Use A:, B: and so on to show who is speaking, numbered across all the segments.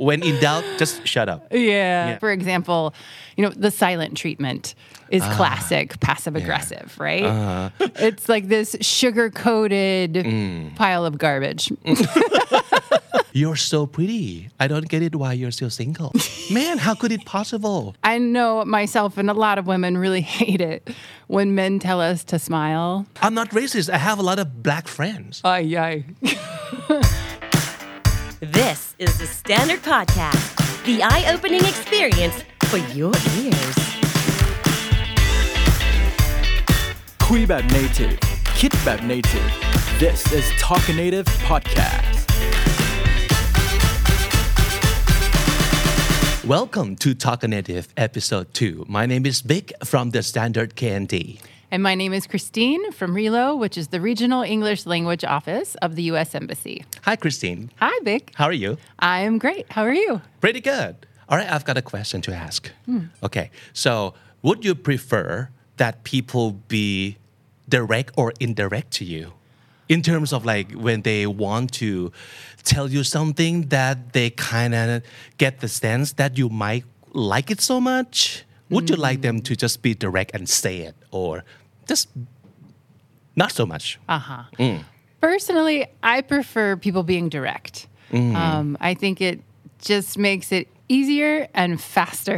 A: when in doubt just shut up
B: Yeah. For example, the silent treatment is classic passive aggressive, right? It's like this sugar-coated pile of garbage.
A: You're so pretty I don't get it why you're still single man how could it possible
B: I know myself and a lot of women really hate it when men tell us to smile.
A: I'm not racist I have a lot of black friends
B: Ay, ay.
C: This is the Standard Podcast, the eye-opening experience for your ears.
D: คุยแบบ native คิดแบบ native This is Talking Native Podcast
A: Welcome to Talk Native Episode 2 My name is Vic from the Standard KND
B: And my name is Christine from RELO, which is the Regional English Language Office of the U.S. Embassy.
A: Hi Christine
B: Hi, Vic.
A: How are you?
B: I am great. How are you?
A: Pretty good All right I've got a question to ask Okay so would you prefer that people be direct or indirect to you in terms of like when they want to tell you something that they kind of get the sense that you might like it so much would you like them to just be direct and say it or just not so much
B: Personally, I prefer people being direct. I think it just makes it easier and faster.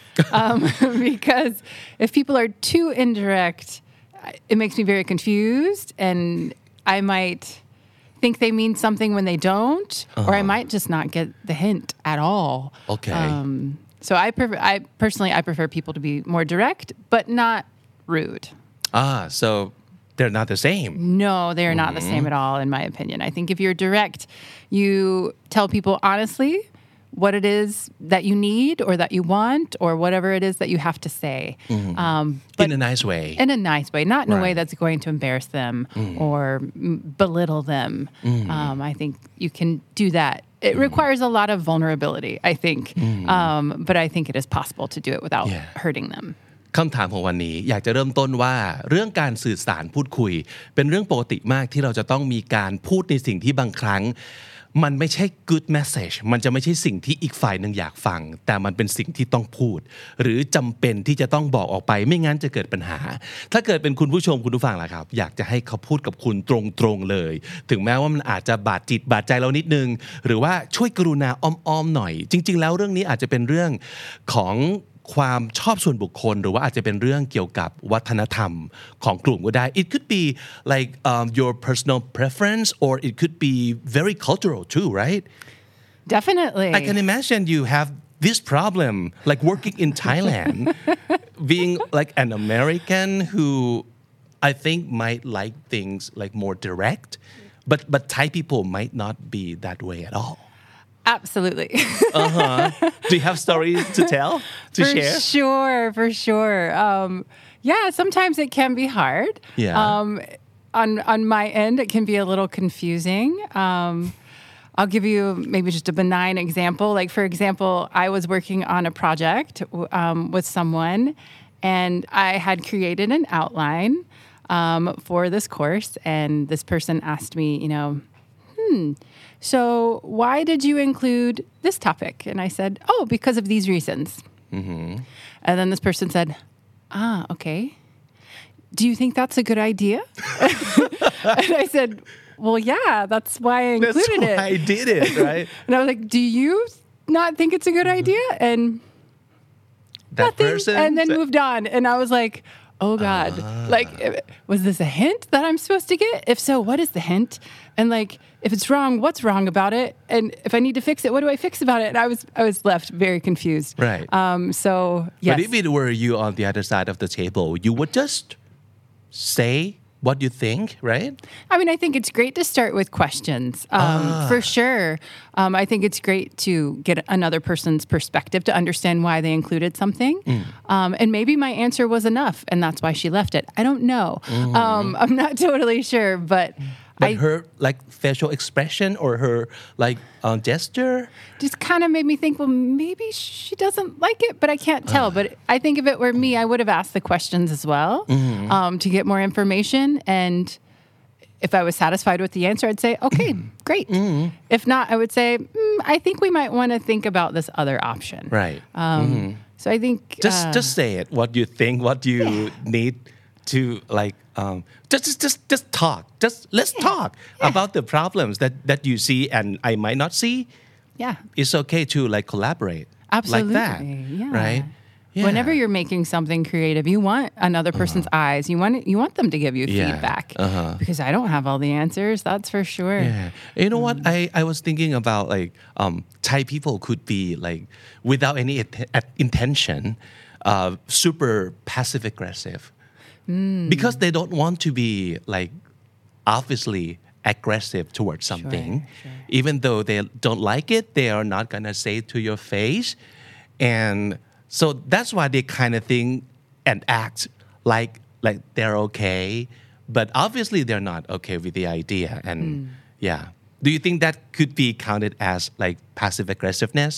B: Because if people are too indirect, it makes me very confused and I might think they mean something when they don't, or I might just not get the hint at all.
A: Okay.
B: So I personally prefer people to be more direct, but not rude.
A: So they're not the same
B: No, they are not the same at all, in my opinion. I think if you're direct, you tell people honestly what it is that you need or that you want or whatever it is that you have to say. But
A: in a nice way
B: in a nice way, not in a way
A: Right.
B: that's going to embarrass them or belittle them. I think you can do that. It requires a lot of vulnerability, I think. But I think it is possible to do it without hurting them.
A: คำถามของวันนี้อยากจะเริ่มต้นว่าเรื่องการสื่อสารพูดคุยเป็นเรื่องปกติมากที่เราจะต้องมีการพูดในสิ่งที่บางครั้งมันไม่ใช่ good message มันจะไม่ใช่สิ่งที่อีกฝ่ายหนึ่งอยากฟังแต่มันเป็นสิ่งที่ต้องพูดหรือจำเป็นที่จะต้องบอกออกไปไม่งั้นจะเกิดปัญหาถ้าเกิดเป็นคุณผู้ชมคุณผู้ฟังล่ะครับอยากจะให้เขาพูดกับคุณตรงๆเลยถึงแม้ว่ามันอาจจะบาดจิตบาดใจเรานิดนึงหรือว่าช่วยกรุณาอ้อมๆหน่อยจริงๆแล้วเรื่องนี้อาจจะเป็นเรื่องของความชอบส่วนบุคคลหรือว่าอาจจะเป็นเรื่องเกี่ยวกับวัฒนธรรมของกลุ่มก็ได้ It could be like your personal preference or it could be very cultural too, right?
B: Definitely.
A: I can imagine you have this problem like working in Thailand being like an American who I think might like things like more direct but Thai people might not be that way at all.
B: Absolutely.
A: Do you have stories to tell, to share?
B: For sure. Yeah, sometimes it can be hard.
A: Yeah.
B: On my end, it can be a little confusing. I'll give you maybe just a benign example. Like, for example, I was working on a project with someone, and I had created an outline for this course, and this person asked me, so why did you include this topic? And I said, because of these reasons. And then this person said, okay. Do you think that's a good idea? And I said, well, yeah, that's why I included it.
A: That's why I did it, right?
B: And I was like, do you not think it's a good idea? And
A: That
B: nothing.
A: person
B: And then
A: said-
B: moved on. And I was like, oh God, like, was this a hint that I'm supposed to get? If so, what is the hint? And like, if it's wrong, what's wrong about it? And if I need to fix it, what do I fix about it? And I was left very confused.
A: Right.
B: So yes.
A: But if it were you on the other side of the table, you would just say what you think, right?
B: I mean, I think it's great to start with questions, for sure. I think it's great to get another person's perspective to understand why they included something. And maybe my answer was enough, and that's why she left it. I don't know. I'm not totally sure, but
A: her like facial expression or her like gesture
B: just kind of made me think, well, maybe she doesn't like it, but I can't tell. But I think if it were me, I would have asked the questions as well to get more information. And if I was satisfied with the answer, I'd say, okay, great. If not, I would say, I think we might want to think about this other option.
A: Right.
B: So I think
A: Just say it. What you think. What you need to like. Just talk. Let's talk about the problems that you see and I might not see.
B: yeah.
A: It's okay to like collaborate.
B: Absolutely.
A: Like that.
B: Yeah.
A: Right. Yeah.
B: Whenever you're making something creative, you want another person's eyes. You want them to give you feedback. Because I don't have all the answers, that's for sure.
A: Yeah. You know what? I was thinking about like Thai people could be like without any intention super passive aggressive because they don't want to be like obviously aggressive towards something. Even though they don't like it, they are not gonna say it to your face. And so that's why they kind of think and act like they're okay, but obviously they're not okay with the idea. And yeah, do you think that could be counted as like passive aggressiveness?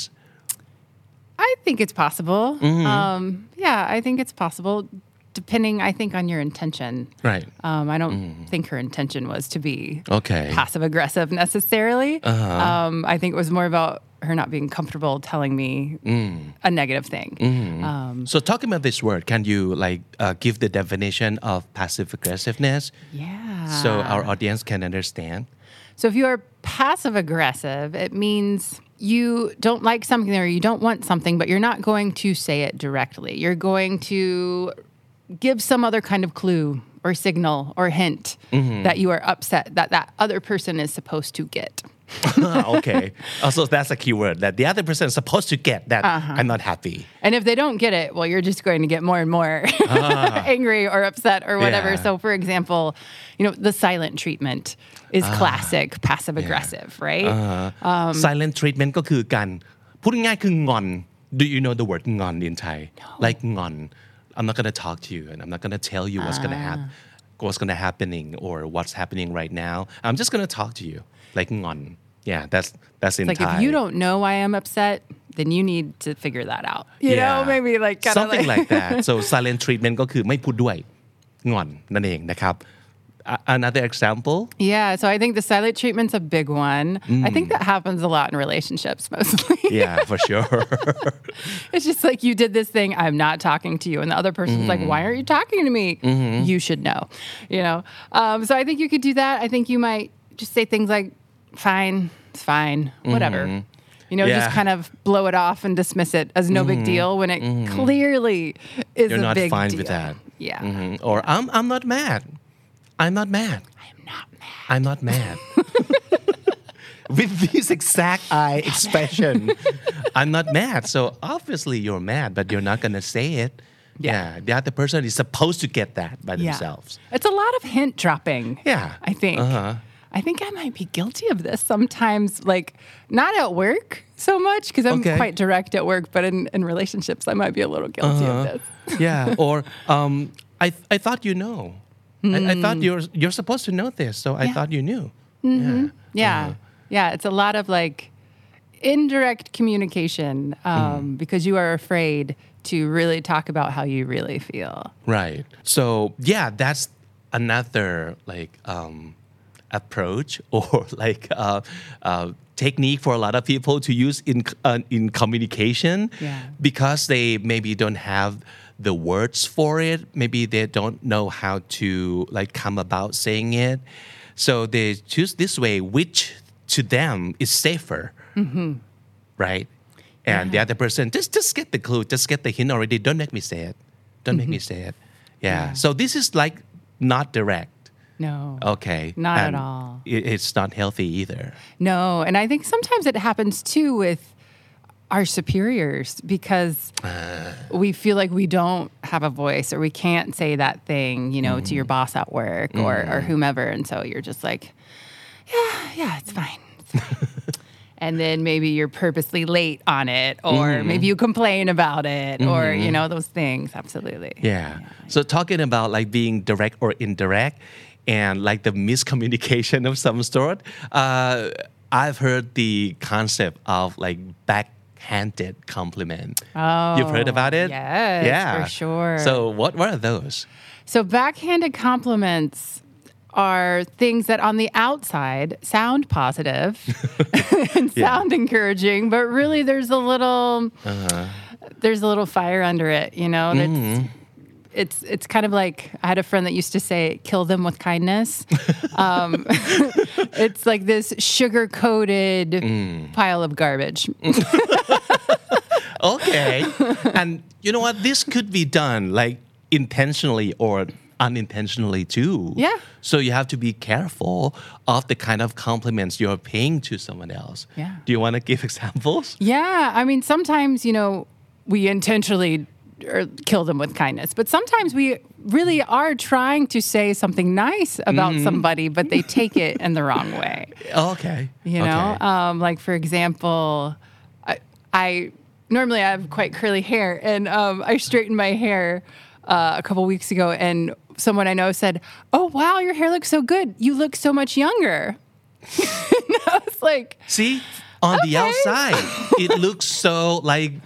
B: I think it's possible. Yeah, I think it's possible, depending, I think, on your intention.
A: Right.
B: I don't think her intention was to be
A: Okay.
B: passive aggressive necessarily. I think it was more about her not being comfortable telling me a negative thing.
A: So talking about this word, can you like give the definition of passive aggressiveness
B: Yeah.
A: so our audience can understand?
B: So if you are passive aggressive, it means you don't like something or you don't want something, but you're not going to say it directly. You're going to give some other kind of clue or signal or hint that you are upset that other person is supposed to get.
A: Okay. Also, that's a keyword that the other person is supposed to get that I'm not happy.
B: And if they don't get it, well, you're just going to get more and more angry or upset or whatever.
A: Yeah.
B: So, for example, the silent treatment is classic passive aggressive, right?
A: Silent treatment ก็คือการพูดง่ายๆคืองอน Do you know the word งอน in Thai? Like งอน I'm not going to talk to you and I'm not going to tell you what's going to happening or what's happening right now. I'm just going to talk to you. Like งอน Yeah, that's in
B: Like
A: Thai.
B: if you don't know why I'm upset, then you need to figure that out. You know, maybe like kind
A: something
B: of
A: like that. So silent treatment ก็คือไม่พูดด้วยงอนนั่นเองนะครับ Another example?
B: Yeah, so I think the silent treatment's a big one. I think that happens a lot in relationships mostly.
A: Yeah, for sure.
B: It's just like you did this thing, I'm not talking to you. And the other person's like, why aren't you talking to me? You should know, So I think you could do that. I think you might just say things like, fine, it's fine, whatever. Just kind of blow it off and dismiss it as no big deal when it clearly is
A: You're
B: a
A: not
B: big
A: fine
B: deal.
A: with that.
B: Yeah.
A: Or I'm not mad. I'm not mad.
B: I am not mad.
A: I'm not mad. With this exact eye expression. I'm not mad. So obviously you're mad, but you're not going to say it. Yeah. The other person is supposed to get that by themselves.
B: It's a lot of hint dropping.
A: Yeah.
B: I think. I think I might be guilty of this sometimes, like not at work so much because I'm quite direct at work, but in relationships, I might be a little guilty of this.
A: Yeah. Or I thought you know. I thought you're supposed to know this, so I thought you knew.
B: Yeah. It's a lot of like indirect communication because you are afraid to really talk about how you really feel.
A: Right. So yeah, that's another like approach or like technique for a lot of people to use in communication because they maybe don't have the words for it. Maybe they don't know how to like come about saying it. So they choose this way, which to them is safer. Right? And the other person, just get the clue, just get the hint already. Don't make me say it. Don't make me say it. Yeah. So this is like not direct.
B: No.
A: Okay.
B: Not
A: and
B: at all.
A: It's not healthy either.
B: No. And I think sometimes it happens too with our superiors because we feel like we don't have a voice or we can't say that thing, to your boss at work or whomever. And so you're just like, yeah, it's fine. It's fine. And then maybe you're purposely late on it or maybe you complain about it or, those things. Absolutely.
A: Yeah. So talking about like being direct or indirect and like the miscommunication of some sort, I've heard the concept of like backhanded compliment.
B: Oh,
A: you've heard about it?
B: Yes, for sure.
A: So what are those?
B: So backhanded compliments are things that on the outside sound positive and sound encouraging, but really there's a little fire under it, you know. It's kind of like I had a friend that used to say, "Kill them with kindness." It's like this sugar-coated pile of garbage.
A: Okay. And you know what? This could be done like intentionally or unintentionally too.
B: Yeah.
A: So you have to be careful of the kind of compliments you're paying to someone else.
B: Yeah.
A: Do you want to give examples?
B: Yeah. I mean, sometimes, you know, we intentionally kill them with kindness, but sometimes we really are trying to say something nice about somebody, but they take it in the wrong way.
A: Okay.
B: You know, like for example, I normally have quite curly hair, and I straightened my hair a couple weeks ago, and someone I know said, "Oh wow, your hair looks so good. You look so much younger." And I was like,
A: see, on the outside, it looks so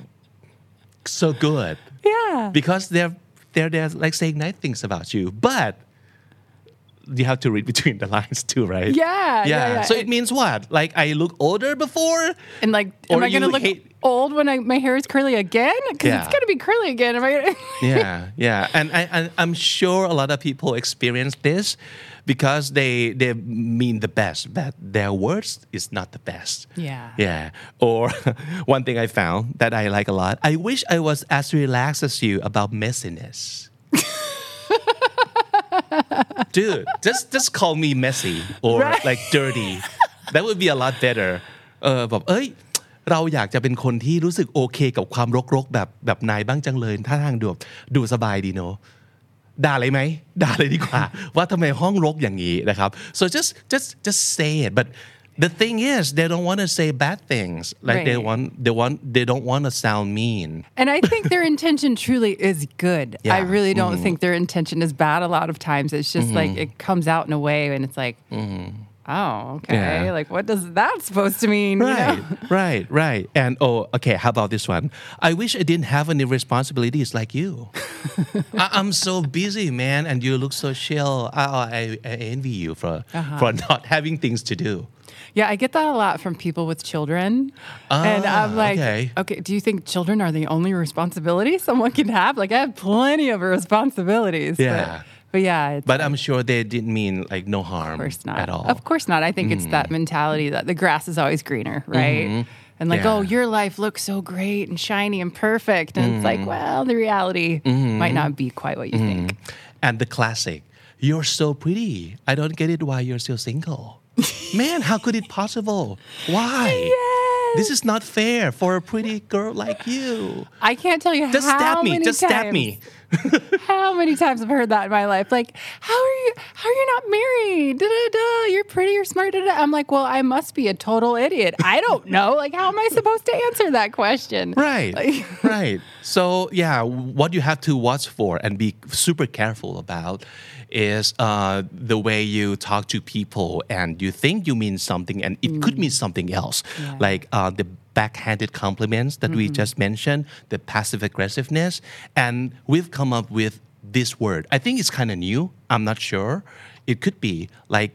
A: good.
B: Yeah.
A: Because they're like saying nice things about you, but you have to read between the lines too, right?
B: Yeah.
A: So it means what? Like I look older before,
B: and like, am I going to look old when my hair is curly again? Because it's going to be curly again. Am I?
A: Yeah. And I'm sure a lot of people experience this because they mean the best, but their words is not the best. Yeah. Or one thing I found that I like a lot. I wish I was as relaxed as you about messiness. Dude, just call me messy or like dirty. That would be a lot better. แบบเราอยากจะเป็นคนที่รู้สึกโอเคกับความรกๆแบบนายบ้างจังเลยท่าทางดูสบายดีเนาะด่าเลยไหมด่าเลยดีกว่าว่าทำไมห้องรกอย่างนี้นะครับ so just say it but the thing is they don't want to say bad things like they don't want to sound mean
B: and I think their intention truly is good. I really don't think their intention is bad a lot of times. It's just like it comes out in a way and it's like oh, okay. Yeah. Like, what does that supposed to mean?
A: Right,
B: you know?
A: right. And okay, how about this one? I wish I didn't have any responsibilities like you. I'm so busy, man, and you look so chill. I envy you for not having things to do.
B: Yeah, I get that a lot from people with children. And I'm like, okay, do you think children are the only responsibility someone can have? Like, I have plenty of responsibilities.
A: Yeah.
B: But yeah.
A: But I'm sure they didn't mean like no harm at all.
B: Of course not. I think it's that mentality that the grass is always greener, right? And like, oh, your life looks so great and shiny and perfect. And it's like, well, the reality might not be quite what you think.
A: And the classic, you're so pretty. I don't get it why you're still single. Man, how could it possible? Why?
B: Yes.
A: This is not fair for a pretty girl like you.
B: I can't tell you
A: Just
B: how many times.
A: Just stab me.
B: How many times I've heard that in my life? Like, how are you not married? You're pretty, you're smart. I'm like, well, I must be a total idiot. I don't know. Like, how am I supposed to answer that question?
A: Right. Right. So yeah, what you have to watch for and be super careful about is the way you talk to people and you think you mean something and it could mean something else. Yeah. Like the backhanded compliments that we just mentioned, the passive aggressiveness. And we've come up with this word. I think it's kind of new. I'm not sure. It could be like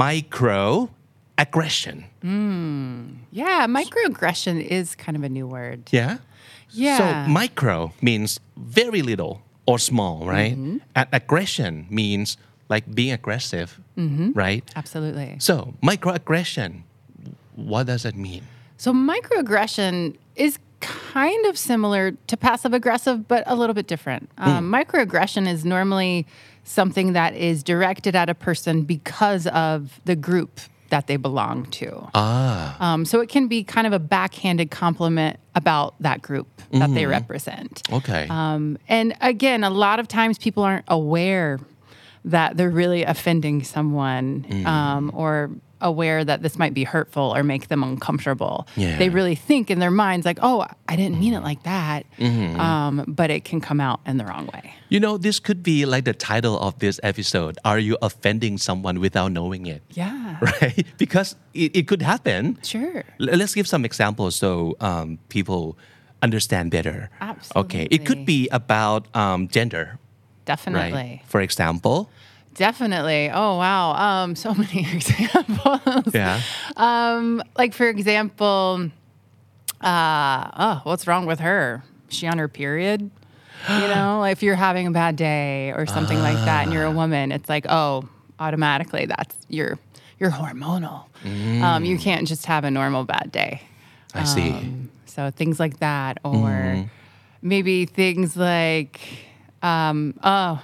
A: microaggression.
B: Yeah, microaggression is kind of a new word.
A: Yeah?
B: Yeah.
A: So micro means very little or small, right? And aggression means like being aggressive, right?
B: Absolutely.
A: So microaggression, what does that mean?
B: So microaggression is kind of similar to passive aggressive, but a little bit different. Microaggression is normally something that is directed at a person because of the group that they belong to. So it can be kind of a backhanded compliment about that group that they represent.
A: Okay.
B: And again, a lot of times people aren't aware that they're really offending someone or aware that this might be hurtful or make them uncomfortable.
A: Yeah.
B: They really think in their minds like, oh, I didn't mean it like that. But it can come out in the wrong way.
A: You know, this could be like the title of this episode. Are you offending someone without knowing it?
B: Yeah.
A: Right? Because it could happen.
B: Sure.
A: Let's give some examples so people understand better.
B: Absolutely.
A: Okay. It could be about gender.
B: Definitely.
A: Right? For example,
B: Definitely. Oh, wow. So many examples.
A: Yeah.
B: Like, for example, what's wrong with her? Is she on her period? You know, if you're having a bad day or something like that and you're a woman, it's like, oh, automatically that's you're hormonal. You can't just have a normal bad day.
A: I see.
B: So things like that, or maybe things like, I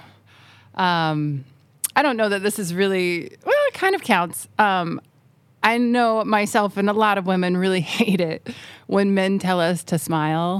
B: don't know that this is really, well, it kind of counts. I know myself and a lot of women really hate it when men tell us to smile.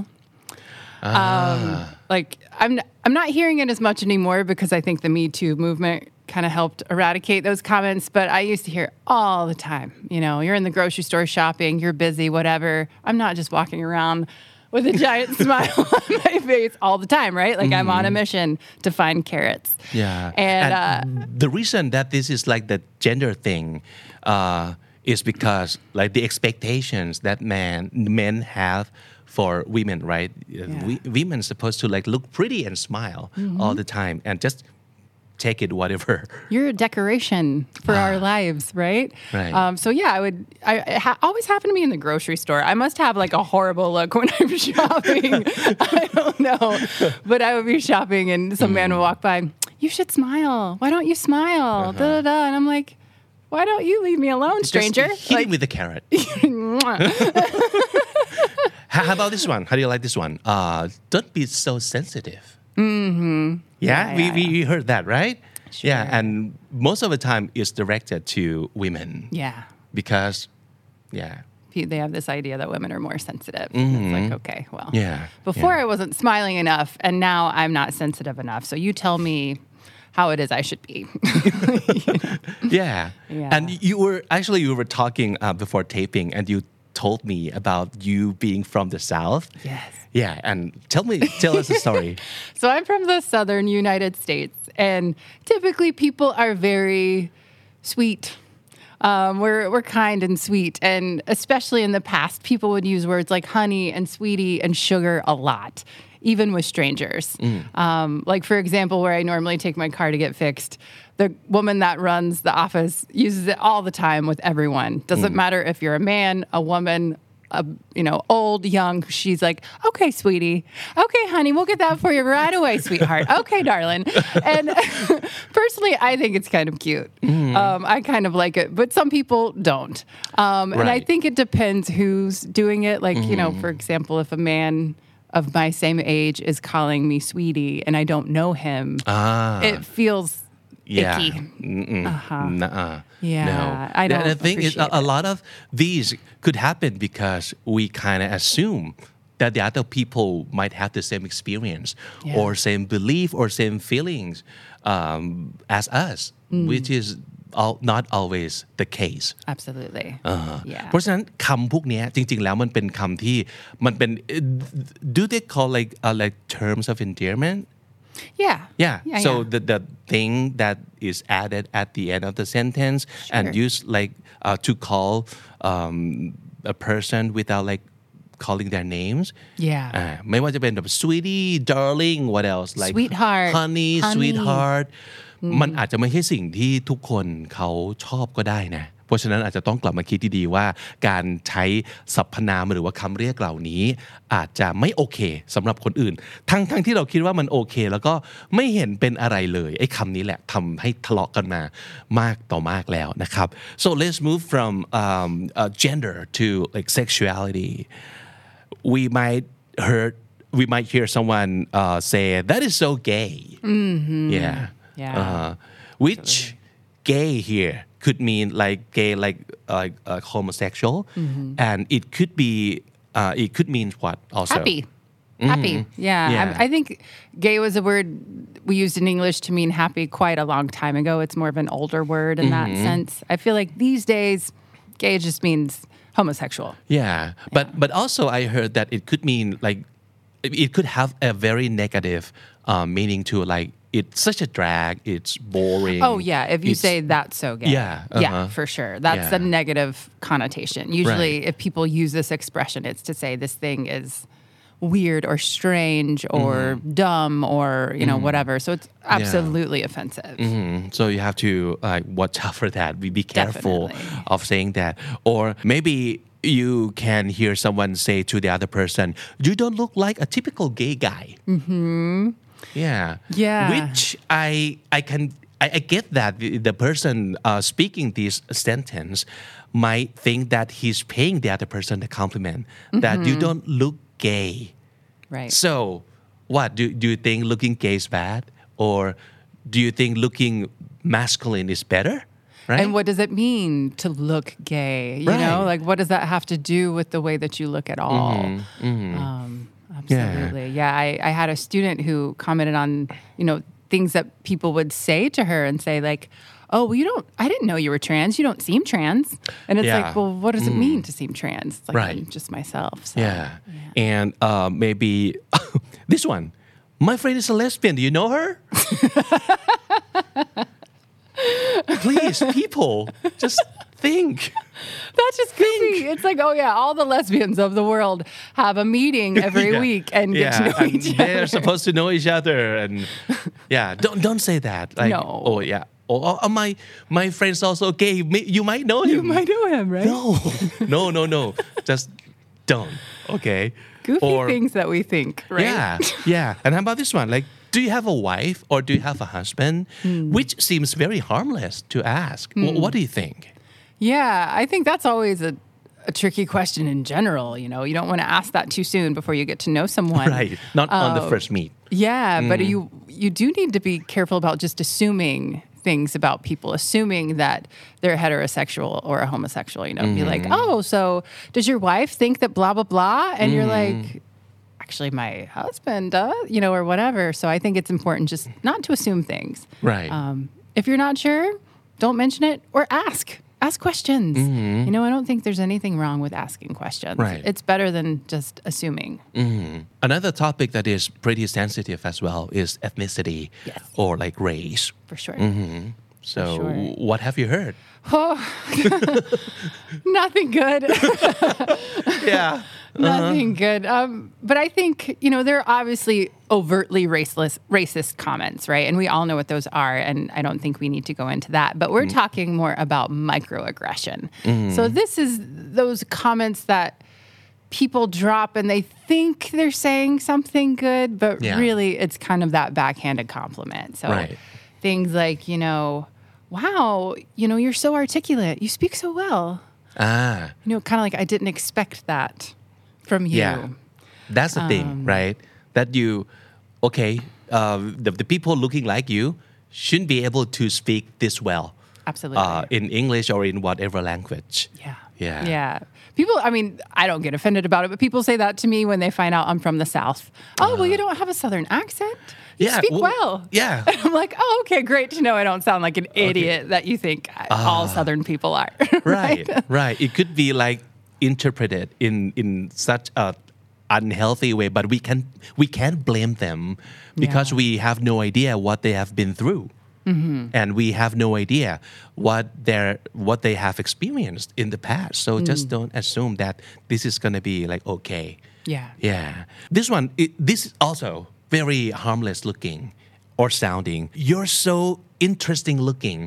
B: Like I'm not hearing it as much anymore because I think the Me Too movement kind of helped eradicate those comments, but I used to hear it all the time. You know, you're in the grocery store shopping, you're busy, whatever. I'm not just walking around with a giant smile on my face all the time, right? Like I'm on a mission to find carrots.
A: Yeah.
B: And
A: the reason that this is like the gender thing is because like the expectations that men have for women, right? Women supposed to like look pretty and smile all the time and just take it whatever.
B: You're a decoration for our lives, right?
A: Right.
B: So yeah, it always happened to me in the grocery store. I must have like a horrible look when I'm shopping. I don't know. But I would be shopping and some man would walk by, you should smile. Why don't you smile? Da, da, da. And I'm like, why don't you leave me alone, stranger?
A: Just hit him with a carrot. How about this one? How do you like this one? Don't be so sensitive. Yeah, we heard that, right?
B: Sure.
A: Yeah, and most of the time it's directed to women.
B: Yeah.
A: Because,
B: They have this idea that women are more sensitive. It's like, okay, well.
A: Yeah,
B: Before
A: yeah.
B: I wasn't smiling enough, and now I'm not sensitive enough. So you tell me how it is I should be.
A: Yeah.
B: Yeah.
A: And you were talking before taping, and you told me about you being from the South.
B: Yes.
A: Yeah, and tell us a story.
B: So I'm from the southern United States, and typically people are very sweet. We're kind and sweet, and especially in the past, people would use words like honey and sweetie and sugar a lot, even with strangers. Like, for example, where I normally take my car to get fixed, the woman that runs the office uses it all the time with everyone. Doesn't matter if you're a man, a woman, old, young. She's like, okay, sweetie. Okay, honey, we'll get that for you right away, sweetheart. Okay, darling. And personally, I think it's kind of cute. I kind of like it, but some people don't. And I think it depends who's doing it. Like, for example, if a man of my same age is calling me sweetie and I don't know him, it feels icky.
A: Nuh-uh.
B: Yeah,
A: No.
B: I don't
A: The thing is,
B: appreciate
A: a
B: it.
A: lot of these could happen because we kind of assume that the other people might have the same experience or same belief or same feelings as us, which is not always the case.
B: Absolutely. Yeah.
A: เพราะฉะนั้นคำพวกเนี้ยจริงๆแล้วมันเป็นคำที่มันเป็น do they call like terms of endearment?
B: Yeah.
A: So the thing that is added at the end of the sentence and used like to call a person without like calling their names.
B: Yeah.
A: ไม่ว่าจะเป็นแบบ sweetie, darling, what else? Like
B: Sweetheart,
A: honey,
B: honey.
A: sweetheart. มันอาจจะไม่ใช่สิ่งที่ทุกคนเขาชอบก็ได้นะ เพราะฉะนั้นอาจจะต้องกลับมาคิดดีๆว่าการใช้สรรพนามหรือว่าคำเรียกเหล่านี้อาจจะไม่โอเคสำหรับคนอื่นทั้งที่เราคิดว่ามันโอเคแล้วก็ไม่เห็นเป็นอะไรเลยไอ้คำนี้แหละทำให้ทะเลาะกันมามากต่อมากแล้วนะครับ so let's move from gender to like sexuality we might hear someone say that is so gay
B: Yeah.
A: Which gay here could mean like gay, like homosexual, and it could mean what also?
B: Happy. Yeah. I think gay was a word we used in English to mean happy quite a long time ago. It's more of an older word in that sense. I feel like these days, gay just means homosexual.
A: Yeah, but also I heard that it could mean like it could have a very negative meaning to like it's such a drag, it's boring.
B: Oh yeah, if you say that's so gay. Yeah, for sure. That's a negative connotation. Usually if people use this expression, it's to say this thing is weird or strange or dumb or whatever. So it's absolutely offensive.
A: So you have to watch out for that. Be careful
B: Definitely.
A: of saying that. Or maybe you can hear someone say to the other person, "You don't look like a typical gay guy."
B: Yeah.
A: Which I get that the person speaking this sentence might think that he's paying the other person the compliment that you don't look gay.
B: Right.
A: So, what do you think looking gay is bad, or do you think looking masculine is better? Right?
B: And what does it mean to look gay? You know,
A: Right.
B: like what does that have to do with the way that you look at all? Absolutely. Yeah. I had a student who commented on, things that people would say to her and say like, "Oh, well, I didn't know you were trans. You don't seem trans." And it's like, well, what does it mean to seem trans? It's like,
A: Right.
B: I'm just myself. So.
A: And maybe this one. My friend is a lesbian. Do you know her? Please, people, just think.
B: That's just goofy. It's like, oh yeah, all the lesbians of the world have a meeting every week and get to know
A: and
B: each
A: they're
B: other.
A: supposed to know each other, and don't say that. Like,
B: No.
A: Oh yeah. Oh, my friend's also gay. You might know him.
B: You might know him, right?
A: No. Just don't. Okay.
B: Goofy things that we think, right?
A: Yeah. And how about this one? Like, do you have a wife or do you have a husband? Which seems very harmless to ask. What do you think?
B: Yeah, I think that's always a tricky question in general. You don't want to ask that too soon before you get to know someone.
A: Right. Not on the first meet.
B: Yeah, but you do need to be careful about just assuming things about people, assuming that they're heterosexual or a homosexual. Be like, oh, so does your wife think that blah blah blah? And you're like, actually, my husband does, or whatever. So I think it's important just not to assume things.
A: Right.
B: If you're not sure, don't mention it or ask. Ask questions. I don't think there's anything wrong with asking questions.
A: Right.
B: It's better than just assuming.
A: Another topic that is pretty sensitive as well is ethnicity or like race.
B: For sure.
A: So
B: For sure.
A: what have you heard?
B: Nothing good.
A: Yeah.
B: Nothing good. But I think, there are obviously overtly racist comments, right? And we all know what those are. And I don't think we need to go into that. But we're talking more about microaggression. So this is those comments that people drop and they think they're saying something good, but really it's kind of that backhanded compliment. So things like, wow, you're so articulate. You speak so well. Kind of like I didn't expect that from you.
A: Yeah. That's the thing, right? That the people looking like you shouldn't be able to speak this well.
B: Absolutely.
A: In English or in whatever language.
B: Yeah. People, I don't get offended about it, but people say that to me when they find out I'm from the South. Oh, well, you don't have a Southern accent. You speak well.
A: Yeah.
B: And I'm like, oh, okay, great to know I don't sound like an idiot that you think all Southern people are.
A: Right. It could be like interpreted in such a unhealthy way, but we can't blame them because we have no idea what they have been through. And we have no idea what they have experienced in the past. So just don't assume that this is going to be like okay. Yeah. This one, this is also very harmless looking or sounding. You're so interesting looking.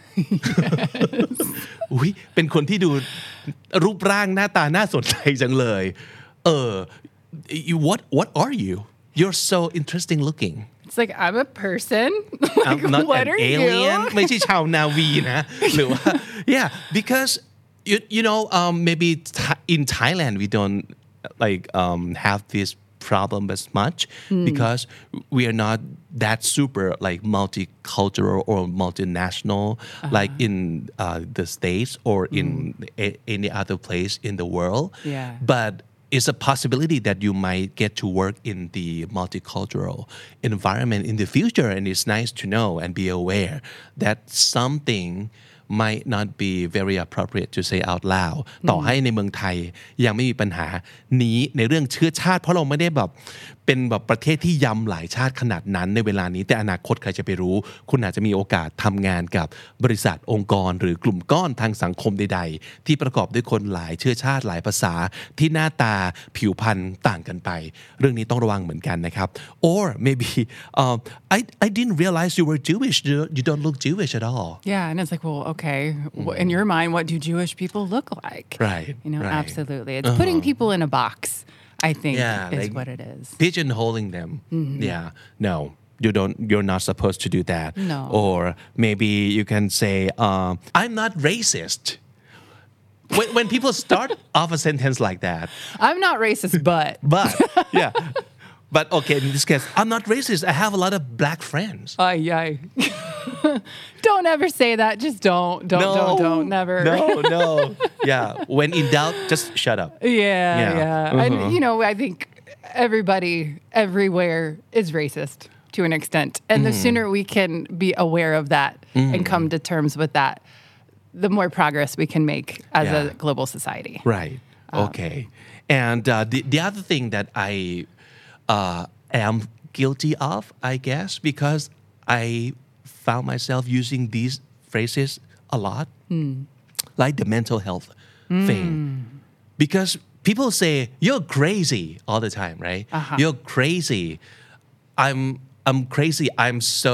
A: อุ๊ยเป็นคนที่ดูรูปร่างหน้าตาน่าสนใจจังเลยwhat are you? You're so interesting looking.
B: It's like, I'm a person. Like,
A: I'm not
B: what
A: an
B: are
A: alien.
B: you?
A: ไม่ใช่ชาวนาวีนะหรือว่า yeah because maybe in Thailand we don't have this problem as much because we are not that super like multicultural or multinational like in the States or in any other place in the world. But it's a possibility that you might get to work in the multicultural environment in the future, and it's nice to know and be aware that something might not be very appropriate to say out loud ต่อให้ในเมืองไทยยังไม่มีปัญหานี้ในเรื่องเชื้อชาติเพราะเราไม่ได้แบบเป็นแบบประเทศที่ยำหลายชาติขนาดนั้นในเวลานี้แต่อนาคตใครจะไปรู้คุณอาจจะมีโอกาสทำงานกับบริษัทองค์กรหรือกลุ่มก้อนทางสังคมใดๆที่ประกอบด้วยคนหลายเชื้อชาติหลายภาษาที่หน้าตาผิวพรรณต่างกันไปเรื่องนี้ต้องระวังเหมือนกันนะครับ or maybe I didn't realize you were Jewish you don't look Jewish at all
B: Yeah, and it's like, well, okay, in your mind, what do Jewish people look like?
A: Right,
B: You know,
A: right.
B: absolutely. It's putting people in a box, I think, is
A: like
B: what it is.
A: pigeonholing them yeah no you're not supposed to do that
B: No.
A: or maybe you can say I'm not racist when people start off a sentence like that
B: I'm not racist, but
A: yeah but okay in this case I'm not racist I have a lot of black friends
B: ay. Don't ever say that. Just don't, never.
A: no yeah when in doubt just shut up
B: Yeah. And, you know, I think everybody everywhere is racist to an extent. And the sooner we can be aware of that and come to terms with that, the more progress we can make as a global society.
A: Right. Okay. And the other thing that I am guilty of, I guess, because I found myself using these phrases a lot, like the mental health thing. Because people say, you're crazy all the time, right? You're crazy. I'm crazy. I'm so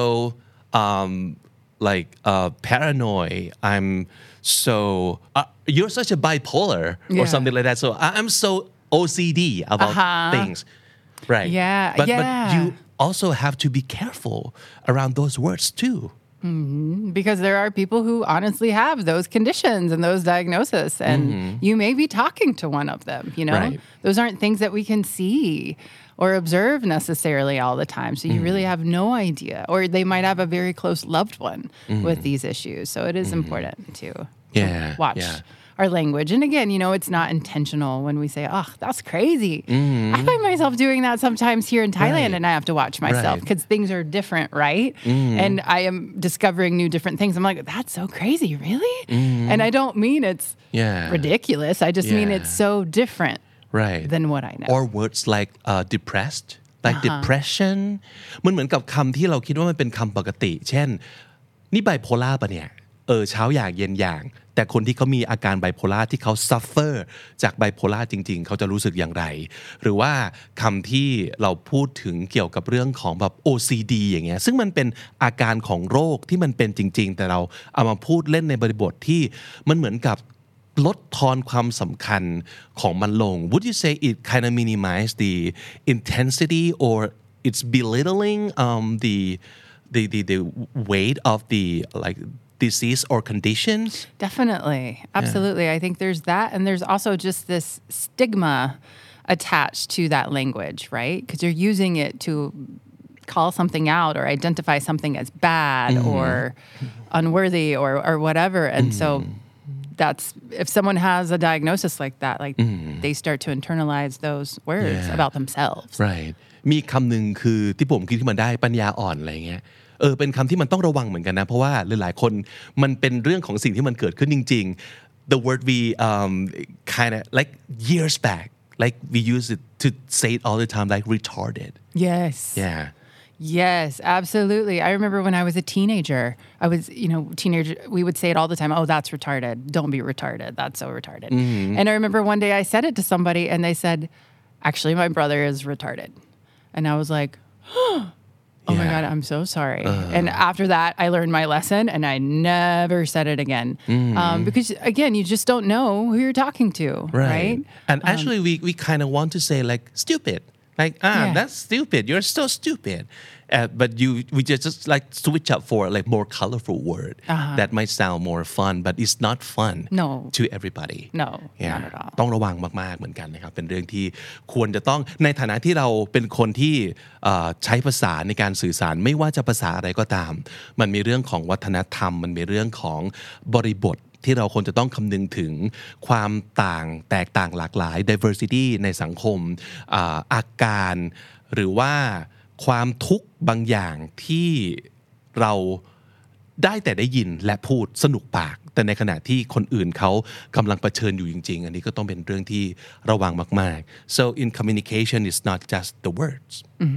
A: paranoid. I'm so you're such a bipolar or something like that. So I'm so OCD about things, right?
B: Yeah,
A: but you also have to be careful around those words too.
B: Because there are people who honestly have those conditions and those diagnoses, and you may be talking to one of them, you know?
A: Right.
B: Those aren't things that we can see or observe necessarily all the time. So you really have no idea. Or they might have a very close loved one with these issues. So it is important to watch our language. And again, you know, it's not intentional when we say, oh, that's crazy. I find myself doing that sometimes here in Thailand, and I have to watch myself because things are different, right? And I am discovering new different things. I'm like, that's so crazy, really? And I don't mean it's ridiculous. I just mean it's so different than what I know.
A: Or words like depressed, like depression มันเหมือนกับคำที่เราคิดว่ามันเป็นคำปกติเช่นนี่ไบโพล่าปะเนี่ยเช้าอย่างเย็นอย่างแต่คนที่เขามีอาการไบโพล่าที่เขา suffer จากไบโพล่าจริงๆเขาจะรู้สึกอย่างไรหรือว่าคำที่เราพูดถึงเกี่ยวกับเรื่องของแบบ OCD อย่างเงี้ยซึ่งมันเป็นอาการของโรคที่มันเป็นจริงๆแต่เราเอามาพูดเล่นในบริบทที่มันเหมือนกับลดทอนความสำคัญของมันลง Would you say it kind of minimize the intensity or it's belittling the weight of the like disease or conditions?
B: Definitely. Absolutely. I think there's that. And there's also just this stigma attached to that language, right? Because you're using it to call something out or identify something as bad or unworthy or whatever. And so that's if someone has a diagnosis like that, like they start to internalize those words about themselves.
A: Right. มีคำหนึ่งคือที่ผมคิดขึ้นมาได้ปัญญาอ่อนอะไรเงี้ยเป็นคำที่มันต้องระวังเหมือนกันนะเพราะว่าหลายๆคนมันเป็นเรื่องของสิ่งที่มันเกิดขึ้นจริงๆ the word we kind of like years back like we use it to say it all the time like retarded
B: Yes. Yes, absolutely. I remember when I was a teenager, we would say it all the time. Oh, that's retarded. Don't be retarded. That's so retarded. And I remember one day I said it to somebody and they said, actually, my brother is retarded. And I was like, oh my God, I'm so sorry. And after that, I learned my lesson and I never said it again. Because again, you just don't know who you're talking to, right?
A: And actually, we kind of want to say like stupid. Like, that's stupid. You're so stupid. But we just like switch up for like more colorful word that might sound more fun, but it's not fun to everybody.
B: No, not at all.
A: ต้องระวังมากๆเหมือนกันนะครับเป็นเรื่องที่ควรจะต้องในฐานะที่เราเป็นคนที่ใช้ภาษาในการสื่อสารไม่ว่าจะภาษาอะไรก็ตามมันมีเรื่องของวัฒนธรรมมันมีเรื่องของบริบทที่เราควรจะต้องคำนึงถึงความแตกต่างหลากหลาย diversity ในสังคมอาการหรือว่าความทุกข์บางอย่างที่เราได้แต่ได้ยินและพูดสนุกปากแต่ในขณะที่คนอื่นเขากำลังเผชิญอยู่จริงๆอันนี้ก็ต้องเป็นเรื่องที่ระวังมากๆ so in communication it's not just the words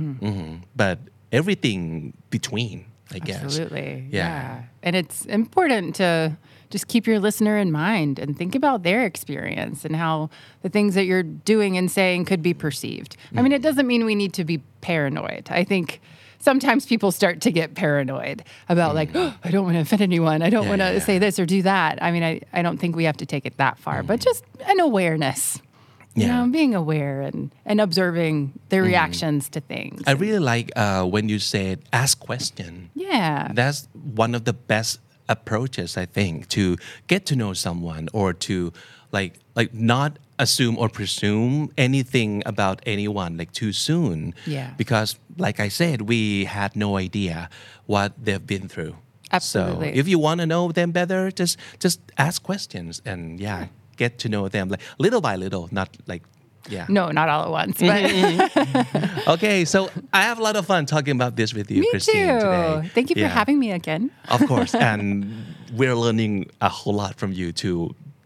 A: but everything between I guess
B: Absolutely.
A: Yeah.
B: And it's important to just keep your listener in mind and think about their experience and how the things that you're doing and saying could be perceived. I mean, it doesn't mean we need to be paranoid. I think sometimes people start to get paranoid about like, oh, I don't want to offend anyone. I don't want to say this or do that. I mean, I don't think we have to take it that far, but just an awareness. You know, being aware and observing their reactions to things.
A: I really like when you said ask question.
B: Yeah.
A: That's one of the best approaches I think to get to know someone or to like not assume or presume anything about anyone like too soon.
B: Yeah.
A: Because like I said, we had no idea what they've been through.
B: Absolutely.
A: So if you want to know them better, just ask questions and get to know them like little by little, not like
B: No, not all at once. But
A: Okay, so I have a lot of fun talking about this with you,
B: me
A: Christine,
B: too.
A: today.
B: Thank you for having me again.
A: Of course, and we're learning a whole lot from you too.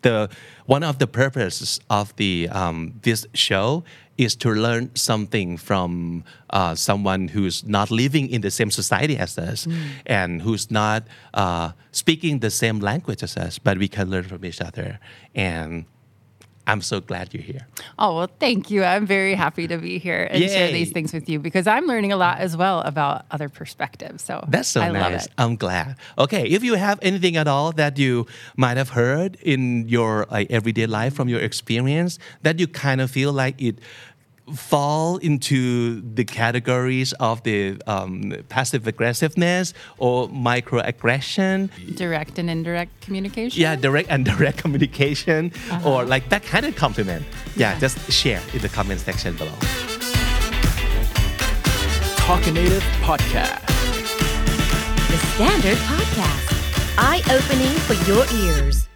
A: One of the purposes of this show is to learn something from someone who's not living in the same society as us and who's not speaking the same language as us, but we can learn from each other. And I'm so glad you're here.
B: Oh, well, thank you. I'm very happy to be here and share these things with you because I'm learning a lot as well about other perspectives. So
A: That's so
B: I love
A: nice.
B: it.
A: I'm glad. Okay, if you have anything at all that you might have heard in your everyday life from your experience that you kind of feel like it fall into the categories of the passive aggressiveness or microaggression.
B: Direct and indirect communication.
A: Yeah, direct and indirect communication or like backhanded compliment. Yeah, just share in the comment section below.
D: Talking Native Podcast.
C: The Standard Podcast. Eye-opening for your ears.